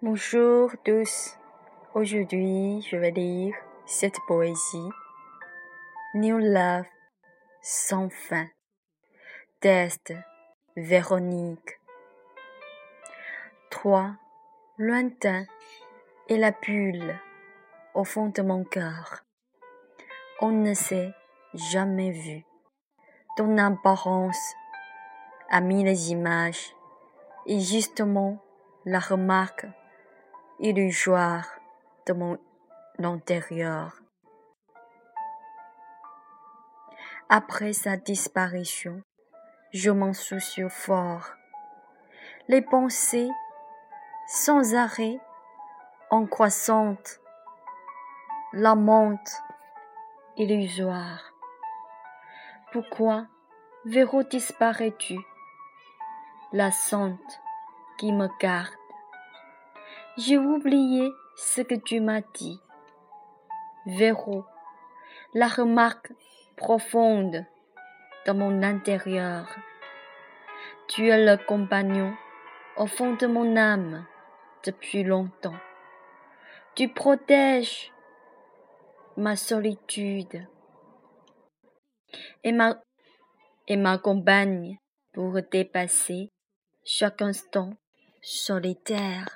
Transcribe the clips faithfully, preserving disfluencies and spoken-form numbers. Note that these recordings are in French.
Bonjour tous, aujourd'hui je vais lire cette poésie New Love sans fin, Test Véronique. Toi, lointain, et la bulle au fond de mon cœur. On ne s'est jamais vu. Ton apparence a mis les images et justement la remarque illusoire de mon intérieur. Après sa disparition, je m'en soucie fort. Les pensées sans arrêt en croissante, la monte illusoire. Pourquoi, Véro, disparais-tu? La sente qui me garde. J'ai oublié ce que tu m'as dit. Véro, la remarque profonde de mon intérieur. Tu es le compagnon au fond de mon âme depuis longtemps. Tu protèges ma solitude et ma, et m'accompagnes pour dépasser chaque instant solitaire.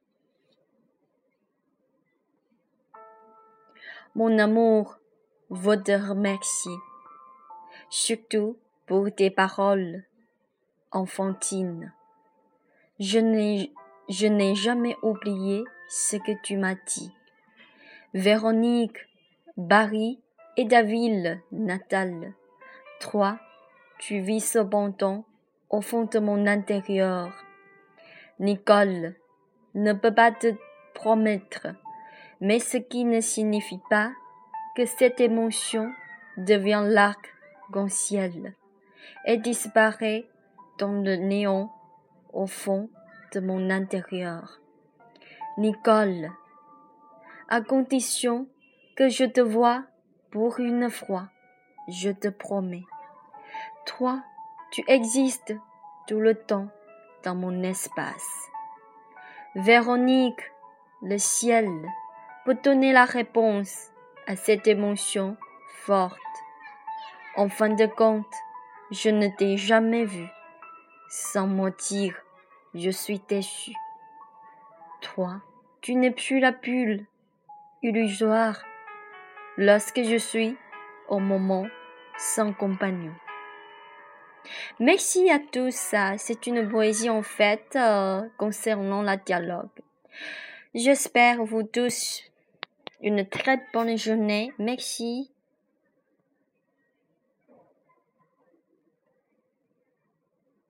Mon amour, vous te remercie, surtout pour tes paroles enfantines. Je n'ai, je n'ai jamais oublié ce que tu m'as dit. Véronique, Barry et ta ville natale. Toi, tu vis cependant au fond de mon intérieur. Nicole ne peut pas te promettre, mais ce qui ne signifie pas que cette émotion devient l'arc-en-ciel et disparaît dans le néant au fond de mon intérieur. Nicole, à condition que je te voie pour une fois, je te promets. Toi, tu existes tout le temps dans mon espace. Véronique, le ciel peut donner la réponse à cette émotion forte. En fin de compte, je ne t'ai jamais vu. Sans mentir, je suis déçue. Toi, tu n'es plus la bulle illusoire lorsque je suis au moment sans compagnon. Merci à tous. C'est une poésie en fait euh, concernant le dialogue. J'espère vous tous une très bonne journée. Merci.